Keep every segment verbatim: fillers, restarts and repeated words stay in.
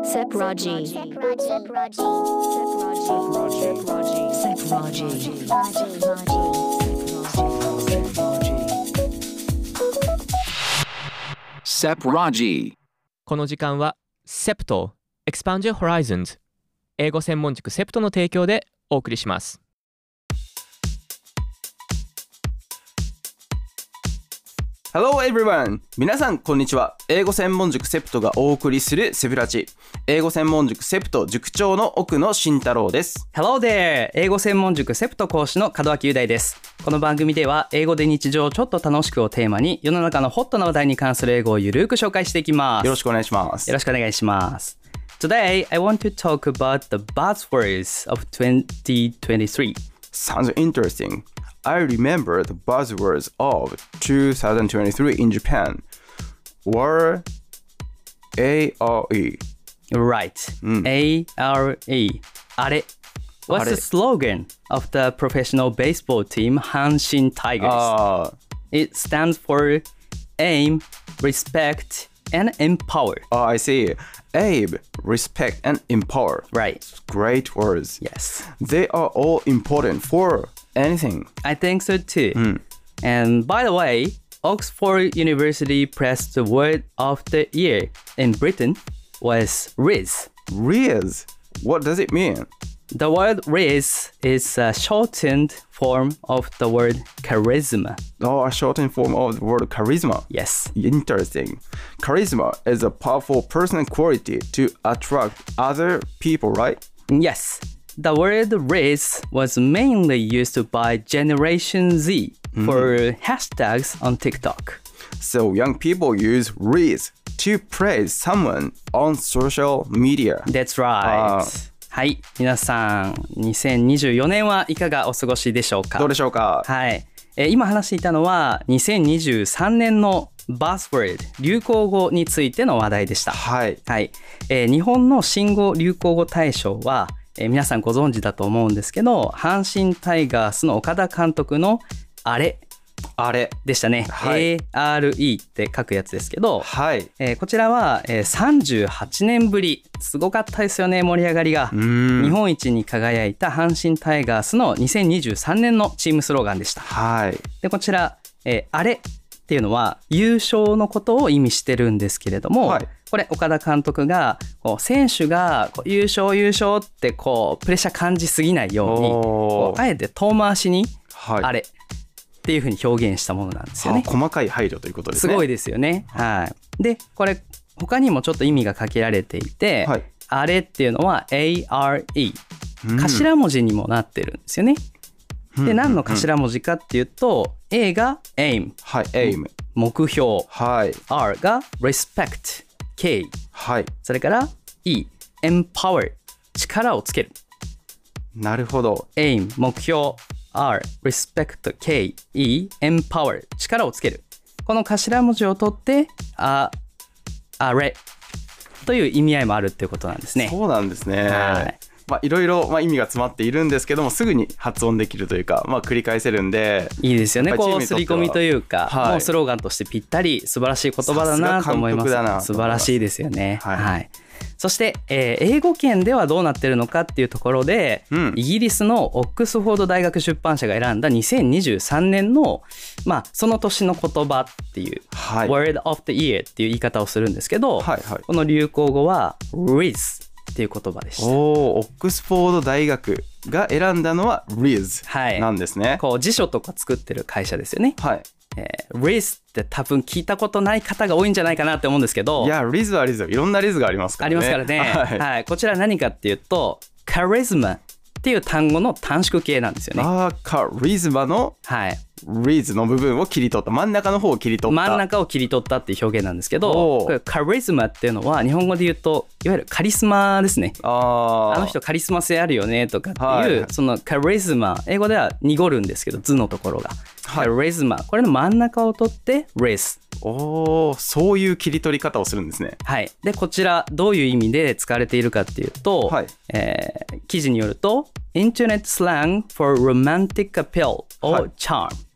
Sepraji. Sepraji. Sepraji. Sepraji. この時間は セプト Expand Your Horizons 英語専門塾 セプト の提供でお送りします。 Hello everyone! 皆さんこんにちは。英語専門塾セプトがお送りするセブラジ。英語専門塾セプト塾長の奥野慎太郎です。 Hello there! 英語専門塾セプト講師の門脇雄大です。この番組では英語で日常をちょっと楽しくをテーマに世の中のホットな話題に関する英語をゆるく紹介していきます。 よろしくお願いします。 よろしくお願いします。Today, I want to talk about the buzzwords of twenty twenty-three. Sounds interesting.I remember the buzzwords of twenty twenty-three in Japan were A R E. Right.、Mm. A R E. あれ。What's the slogan of the professional baseball team 阪神 Tigers?、Uh. It stands for aim, respect, and empower. Oh, I see. Aim, respect, and empower. Right. Great words. Yes. They are all important for...Anything. I think so too.、Mm. And by the way, Oxford University Press the word of the year in Britain was Riz. Riz? What does it mean? The word Riz is a shortened form of the word charisma. Oh, a shortened form of the word charisma. Yes. Interesting. Charisma is a powerful personal quality to attract other people, right? Yes.The word Riz was mainly used by Generation Z for mm. hashtags on TikTok. So young people use Riz to praise someone on social media. That's right.、Uh. はい、皆さん、にせんにじゅうよねんはいかがお過ごしでしょうか？ どうでしょうか？ はい、えー、今話していたのはにせんにじゅうさんねんのBuzzword 流行語についての話題でした。 はい。 はい、えー、日本の新語・流行語大賞はえー、皆さんご存知だと思うんですけど、阪神タイガースの岡田監督のあれあれでしたね、 はい、 エーアールイー って書くやつですけど、 はいえー、こちらは、えー、さんじゅうはちねんぶり、すごかったですよね、盛り上がりが。日本一に輝いた阪神タイガースのにせんにじゅうさんねんのチームスローガンでした。 はい、 でこちら、えー、あれっていうのは優勝のことを意味してるんですけれども、はい、これ岡田監督がこう選手がこう優勝優勝ってこうプレッシャー感じすぎないようにこうあえて遠回しにあれっていう風に表現したものなんですよね。 細かい配慮ということですね。 すごいですよね。はい。でこれ他にもちょっと意味がかけられていて、はい、あれっていうのは エーアールイー、頭文字にもなってるんですよね。で何の頭文字かっていうと、うん、A が aim、 はい、aim 目標、 はい、 R が respect 敬意、 はい、 それから E empower 力をつける。 なるほど。 aim 目標、R respect 敬意、E empower 力をつける。この頭文字を取ってああれという意味合いもあるっていうことなんですね。 そうなんですね。はい。まあ、いろいろ、まあ、意味が詰まっているんですけどもすぐに発音できるというか、まあ、繰り返せるんでいいですよね。こう刷り込みというか、はい、もうスローガンとしてぴったり素晴らしい言葉だなと思います。素晴らしいですよね。はい、はい、そして、えー、英語圏ではどうなってるのかっていうところで、うん、イギリスのオックスフォード大学出版社が選んだにせんにじゅうさんねんの、まあ、その年の言葉っていう、はい、Word of the Year っていう言い方をするんですけど、はいはい、この流行語は Rizっていう言葉でした。 おー、オックスフォード大学が選んだのは Riz なんですね。 はい、こう辞書とか作ってる会社ですよね。 はい。 えー、Riz って多分聞いたことない方が多いんじゃないかなって思うんですけど。 いや、Riz は Riz、いろんな Riz がありますからね。 ありますからね。はい。はい、こちら何かっていうと、Charisma っていう単語の短縮形なんですよね。 あー、カリズマの、はい。Riz の部分を切り取った、真ん中の方を切り取った、 真ん中を切り取ったっていう表現なんですけど、これカリズマっていうのは日本語で言うといわゆるカリスマですね。ああの人カリスマ性あるよねとかっていう、はい、そのカリズマ、英語では濁るんですけど図のところが、はい、カリズマ、これの真ん中を取って Riz。 おー、そういう切り取り方をするんですね。 はい。でこちらどういう意味で使われているかっていうと、はい、えー、記事によると Internet slang for romantic appeal or charm、はい、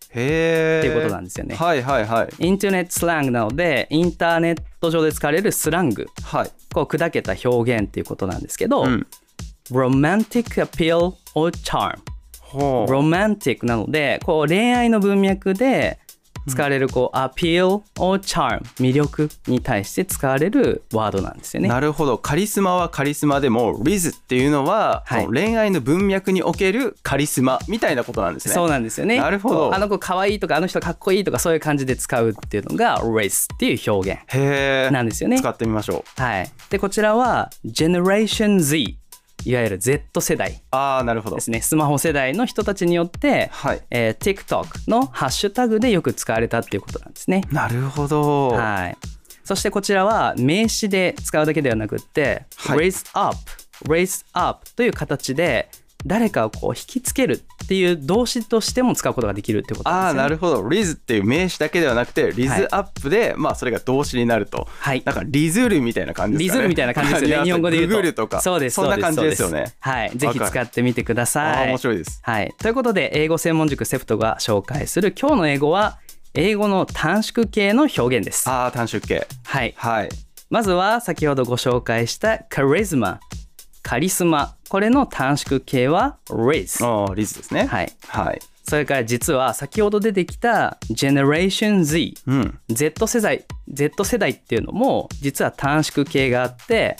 へーっていうことなんですよね。 はいはいはい。 インターネットスラングなのでインターネット上で使われるスラング、 はい、 こう砕けた表現っていうことなんですけど、うん、romantic appeal or charm、romantic なのでこう恋愛の文脈で使われるこう appeal or charm 魅力に対して使われるワードなんですよね。 なるほど。カリスマはカリスマでも Riz っていうのは、はい、その恋愛の文脈におけるカリスマみたいなことなんですね。 そうなんですよね。 なるほど。 あの子可愛いとかあの人かっこいいとかそういう感じで使うっていうのが Riz っていう表現なんですよね。 使ってみましょう。はい。でこちらは Generation Z、いわゆる Z 世代ですね。スマホ世代の人たちによって、はいえー、TikTok のハッシュタグでよく使われたっていうことなんですね。 なるほど、 はい、そしてこちらは名詞で使うだけではなくって、はい、raise up raise up という形で誰かをこう引きつけるっていう動詞としても使うことができるってことなんですよね。 ああ、なるほど。リズっていう名詞だけではなくてリズアップで、はい、まあそれが動詞になると、はい、なんかリズルみたいな感じですかね。 リズルみたいな感じですよね。日本語で言うとググルとかそうです、 そんな感じですよね。 はい、ぜひ使ってみてください。 あ、面白いです。 はい、ということで英語専門塾セプトが紹介する今日の英語は英語の短縮形の表現です。 ああ、短縮形。 はい、 はい、 まずは先ほどご紹介したカリスマ、カリスマ、これの短縮形は Riz。 ああ、リズですね。 はい、 はい、 それから実は先ほど出てきた Generation Z、うん、Z 世代 Z 世代っていうのも実は短縮形があって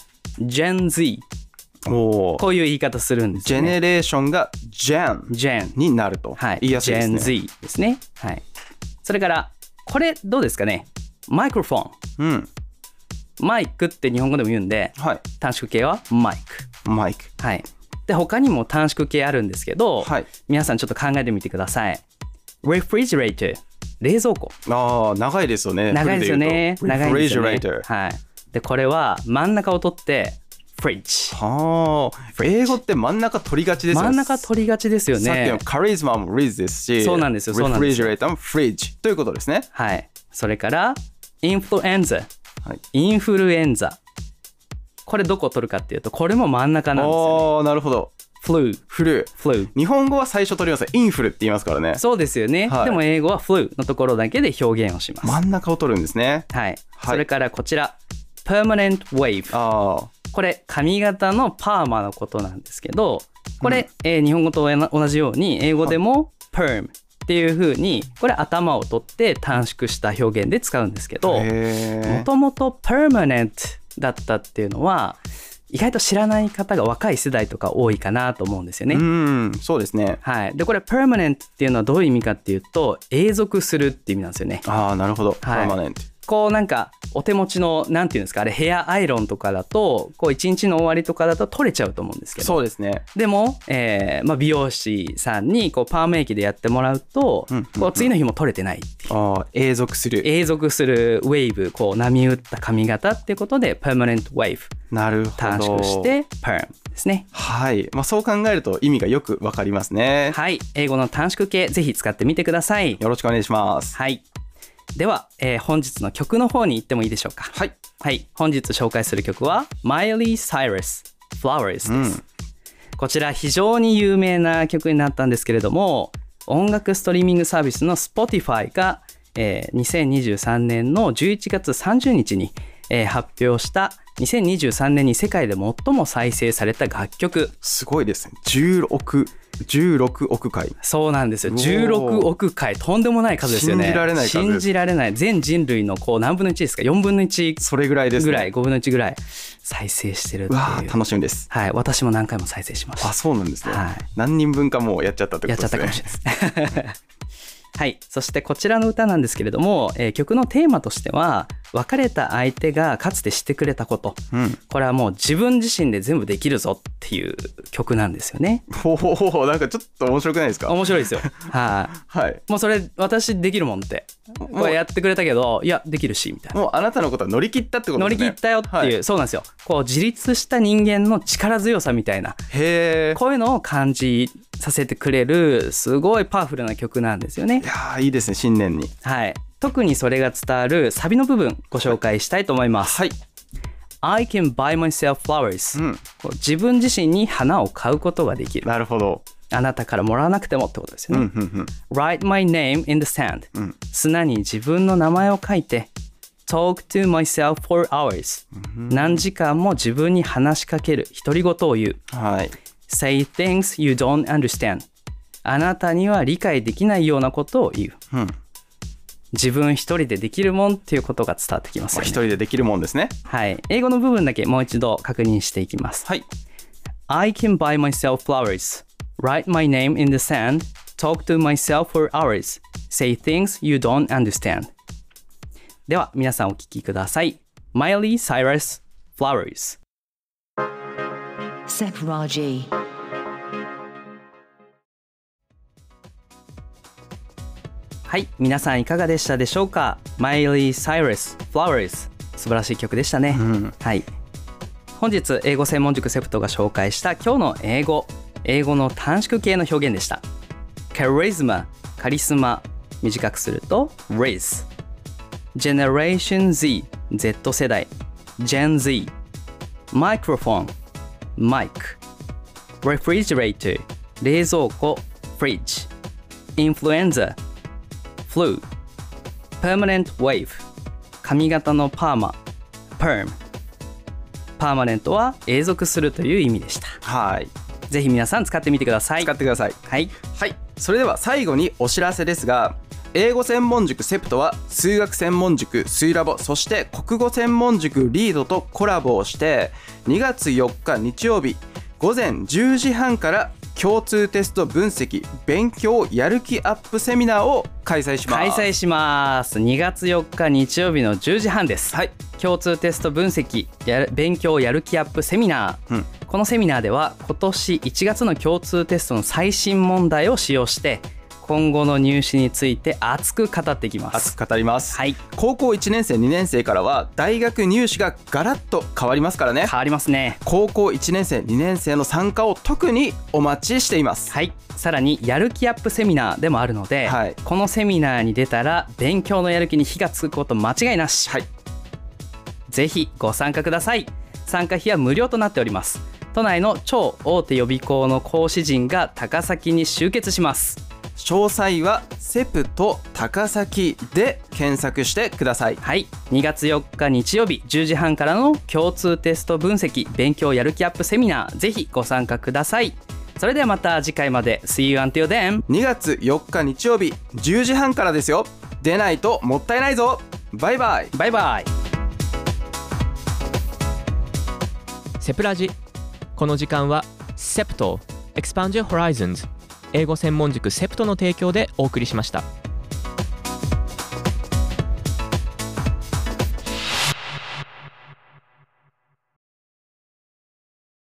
Gen Z、 おこういう言い方するんですよね。 ジェネレーションが Gen, Gen になると、はい、言いやすいですね。 Gen Z ですね。はい、それからこれどうですかね。マイクロフォン、うん、マイクって日本語でも言うんで、はい、短縮形はマイク。 マイク。 はい。で他にも短縮形あるんですけど、はい、皆さんちょっと考えてみてください。Refrigerator、 冷蔵庫。 ああ、長いですよね。 長いですよね。長いですよね。 Refrigerator。 はい。でこれは真ん中を取ってFridge。 はあ、英語って真ん中取りがちですよね。 真ん中取りがちですよね。 さっきのカリスマも Riz ですし、 そうなんですよ。そうなんですよ。 Refrigerator も Fridge ということですね。 はい。それからインフルエンザ、はい、インフルエンザ。これどこを取るかっていうとこれも真ん中なんですよね。 ああ、なるほど。 フルフルフル。 日本語は最初取ります。インフルって言いますからね。 そうですよね、はい、でも英語はフルのところだけで表現をします。 真ん中を取るんですね。 はい、はい、それからこちら Permanent Wave。 あこれ髪型のパーマのことなんですけどこれ、うんえー、日本語と同じように英語でも Permっていう風にこれ頭を取って短縮した表現で使うんですけど、もともと Permanent だったっていうのは意外と知らない方が若い世代とか多いかなと思うんですよね。 うん、そうですね。 はい。でこれ Permanent っていうのはどういう意味かっていうと永続するっていう意味なんですよね。 ああ、なるほど。 はい、 Permanent。 こうなんかお手持ちのなんていうんですかあれヘアアイロンとかだとこう一日の終わりとかだと取れちゃうと思うんですけど。 そうですね。 でも、えーまあ、美容師さんにこうパーメイキでやってもらうと、うんうんうん、こう次の日も取れてないっていう。 ああ、永続する永続するウェーブ、こう波打った髪型っていうことで Permanent Wave。 なるほど。 短縮して Perm ですね。 はい、まあ、そう考えると意味がよくわかりますね。 はい、英語の短縮形ぜひ使ってみてください。 よろしくお願いします。 はい、では、えー、本日の曲の方に行ってもいいでしょうか。 はい、 はい、本日紹介する曲は Miley Cyrus Flowers です、うん、こちら非常に有名な曲になったんですけれども音楽ストリーミングサービスの Spotify が、えー、にせんにじゅうさんねんのじゅういちがつさんじゅうにちに、えー、発表したにせんにじゅうさんねんに世界で最も再生された楽曲。 すごいですね。じゅうろくじゅうろくおくかい。 そうなんですよ。じゅうろくおくかい、とんでもない数ですよね。 信じられない数です。 信じられない。全人類のこう何分のいちですか、よんぶんのいち、 それぐらいですね。 ぐらい、ごぶんのいちぐらい再生してるっていう。 わー、楽しみです。 はい、私も何回も再生しました。 あ、そうなんですね。 はい、 何人分かもうやっちゃったってことですね。 やっちゃったかもしれないです。はい、そしてこちらの歌なんですけれども、えー、曲のテーマとしては別れた相手がかつてしてくれたこと、うん、これはもう自分自身で全部できるぞっていう曲なんですよね。 ほほほほ、なんかちょっと面白くないですか。 面白いですよ。はい、はい、もうそれ私できるもんってこれやってくれたけど、いやできるしみたいな。 もうあなたのことは乗り切ったってことですね。 乗り切ったよっていう、はい、そうなんですよ。こう自立した人間の力強さみたいな、 へー、 こういうのを感じさせてくれるすごいパワフルな曲なんですよね。 いやー、いいですね、新年に。 はい、特にそれが伝わるサビの部分ご紹介したいと思います。 はい、 I can buy myself flowers、うん、自分自身に花を買うことができる。 なるほど。 あなたからもらわなくてもってことですよね。 うんうんうん、 Write my name in the sand、 うん、 砂に自分の名前を書いて Talk to myself for hours、うん、何時間も自分に話しかける、独り言を言う、 はい、 Say things you don't understand、 あなたには理解できないようなことを言う、 うん、 自分一人でできるもんっていうことが伝わってきますよね。 一人でできるもんですね。 はい、英語の部分だけもう一度確認していきます。 はい、 I can buy myself flowers, write my name in the sand, talk to myself for hours, say things you don't understand。 では皆さんお聞きください。 Miley Cyrus Flowers。 Sep Raji。 はい、皆さんいかがでしたでしょうか。 Miley Cyrus Flowers、 素晴らしい曲でしたね、 うん、 はい。本日英語専門塾セプトが紹介した今日の英語、英語の短縮形の表現でした。 Charisma、 カリスマ、短くすると Riz。 Generation Z、 Z 世代 Gen Z。 Microphone、 Mic。 Refrigerator、 冷蔵庫 Fridge。 Influenza、 Flu。 Permanent Wave、 髪型のパーマ Perm。パーマネントは永続するという意味でした。 はい、 ぜひ皆さん使ってみてください。 使ってください。 はい、 はい、それでは最後にお知らせですが、英語専門塾セプトは数学専門塾スイラボ、そして国語専門塾リードとコラボをしてにがつよっか日曜日ごぜんじゅうじはんから共通テスト分析勉強やる気アップセミナーを開催します。 開催します。にがつよっか日曜日のじゅうじはんです。 はい、 共通テスト分析やる勉強やる気アップセミナー、うん、このセミナーでは今年いちがつの共通テストの最新問題を使用して今後の入試について熱く語っていきます。 熱く語ります、 はい、 高校いちねんせいにねんせいからは大学入試がガラッと変わりますからね。 変わりますね。 高校いちねんせいにねんせいの参加を特にお待ちしています。 はい、さらにやる気アップセミナーでもあるので、はい、このセミナーに出たら勉強のやる気に火がつくこと間違いなし、 はい、 ぜひご参加ください。参加費は無料となっております。都内の超大手予備校の講師陣が高崎に集結します。 詳細はセプト高崎で検索してください。 はい、にがつよっか日曜日じゅうじはんからの共通テスト分析勉強やる気アップセミナー、ぜひご参加ください。それではまた次回まで。 See you until then。 にがつよっか日曜日じゅうじはんからですよ。出ないともったいないぞ。バイバイ。 バイバイ。 セプラジ。この時間はセプト Expand Your Horizons 英語専門塾セプトの提供でお送りしました。